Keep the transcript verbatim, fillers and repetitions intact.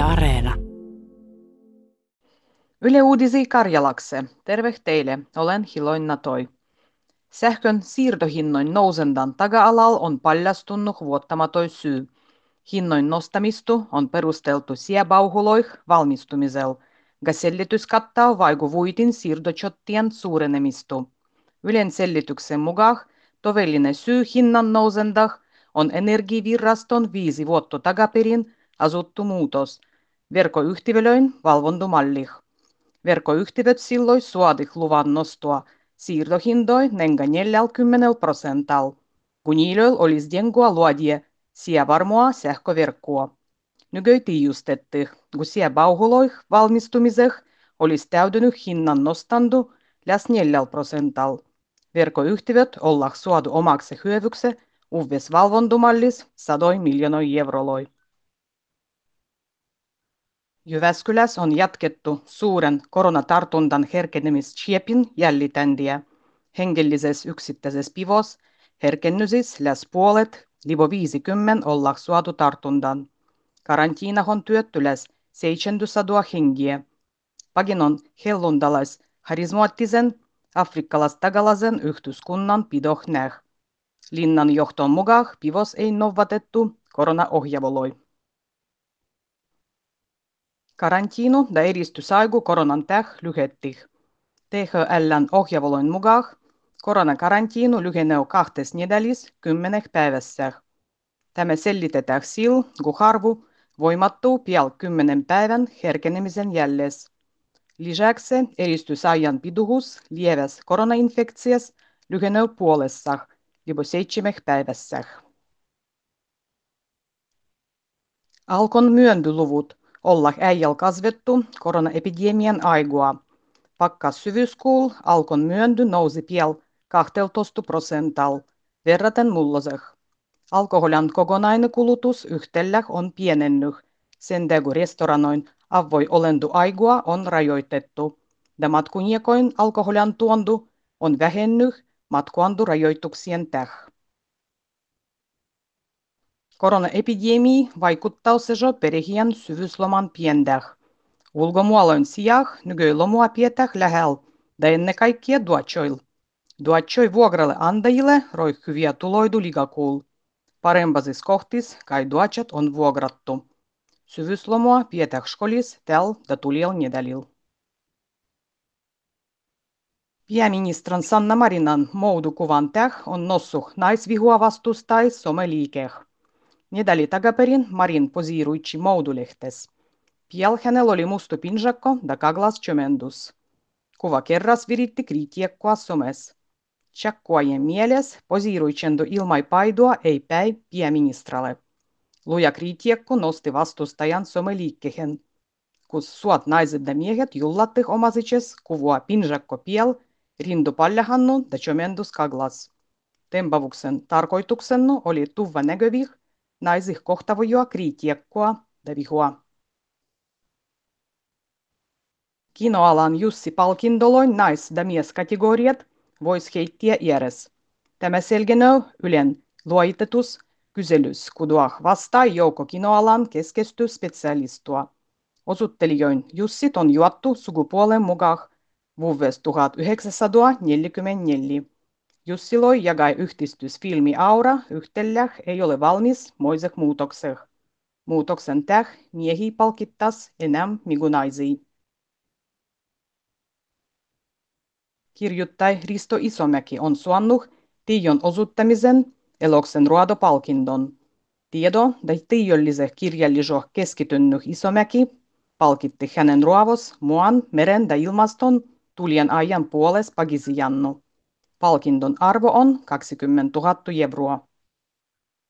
Areena. Yle Uudisi Karjalakse. Terve teille, olen Hiloin Toi. Sähkön siirtohinnoin nousendan taga-alal on paljastunut vuottamatoi syy. Hinnoin nostamistu on perusteltu siebauhuloih valmistumisel. Gasellitys kattaa vaiku vuitin siirtochottien suurenemistu. Ylen sellityksen mukaan tovellinen syy hinnan nousendah on Energiaviraston viisi vuotta takaperin asuttu muutos. Verkoyhtiölöin valvontumallih. Verkoyhtiöt silloin suodih luvan nostua siirtohindoi nenga neljäkymmentä prosental, kun niillä olisi dengua luodie sievarmoa sähköverkkoa. Nykyi tiijustetti, kun siebauhuloih valmistumiseh olisi täytynyt hinnan nostandu läs neljällä prosental. Verkoyhtiöt ollah suodu omaksi hyövykse uves valvontumallis sadoi miljoonoi euroloi. Jyväskylässä on jatkettu suuren koronatartunnan herkenemischiepin jällitändiä. Hengellisessä yksittäisessä pivos herkennysis läs puolet, libo viisikymmentä ollah suotu tartundan. Karantiinahon työtty läs seitsemänsataa hengiä. Pagin on hellundalais harismaattisen afrikkalais-tagalaisen yhteiskunnan pidoh näh. Linnan johton mukaan pivos ei novatettu koronaohjavoloi. Karantiinu da edistysaigu koronan täh lyhettih. T H L:n ohjavoloin mukaan koronakarantiinu lyhenee kahtes nedelis kymmeneh päivässä. Tämä selitetään sillä, kun harvu voimattuu pian kymmenen päivän herkenemisen jälles. Lisäksi edistysajan piduhus lieväs koronainfektias lyhenee puolessa, libo seitsemeh päivässä. Alkon myöntyluvut ollah äijäl kasvettu koronaepidemian aigua. Pakkas syvyyskuul alkon myönty nousi piel kaksitoista prosental, verraten mulloseh. Alkoholian kokonainen kulutus yhtellä on pienennyt, sen kun restoranoin avvoi olendu aigua on rajoitettu. Ja matkuniekoin alkoholian tuondu on vähennyt matkuandu rajoituksien täh. Koronaepidemia vaikuttaa sejo perehien syvyysloman piendäh. Ulkomuoloin sijah nykyi lomua pietäh lähel, ja ennen kaikkea duatsoil. Duatsoi vuokralle andajille roi hyviä tuloidu ligakuul. Parempasis kohtis kai duatsat on vuokrattu. Syvyyslomua pietäh skolis täl ja tuliel nedälil. Pääministran Sanna Marinan moudukuvan täh on nossuh naisvihua vastustai someliikeh. Nedäli takaperin Marin posiiruitsi moudulehtes. Piel hänellä oli musta pinjakko ja kaglas chömendus. Kuva kerras viritti kritiekkoa somes. Tjakkuajen mieles posiiruitsendo ilmai paidua ei päi pääministralle. Luja kritiekko nosti vastustajan someliikkehen. Kus suot naiset ja miehet jullattih omasiches kuvua pinjakko piel, rindu paljahannu ja chömendus kaglas. Tempavuksen tarkoituksennu oli tuva näkövih naisih kohtavojoa kritiekkoa ja vihua. Kinoalan Jussi palkindoloin nais- ja mieskategoriat vois heittiä iäres. Tämä selgenöö Ylen luoitetus kyselys, kuduah vastaa joukko kinoalan keskestyspesialistua. Osuttelijoin Jussit on juottu sukupuolen mukaan vuoves tuhatyhdeksänsataaneljäkymmentäneljä. Jussiloi jagai yhdistysfilmi Aura yhtellä ei ole valmis moiseh muutokseh. Muutoksen täh miehi palkittas enää migunaisia. Kirjuttai Risto Isomäki on suannut Tiijon osuttamisen eloksen ruodopalkindon. Tiedo ja tiijolliseh kirjallisoh keskitynnyt Isomäki palkitti hänen ruovos muan, meren ja ilmaston tulien ajan puoles pagisijannu. Palkindon arvo on kaksikymmentätuhatta euroa.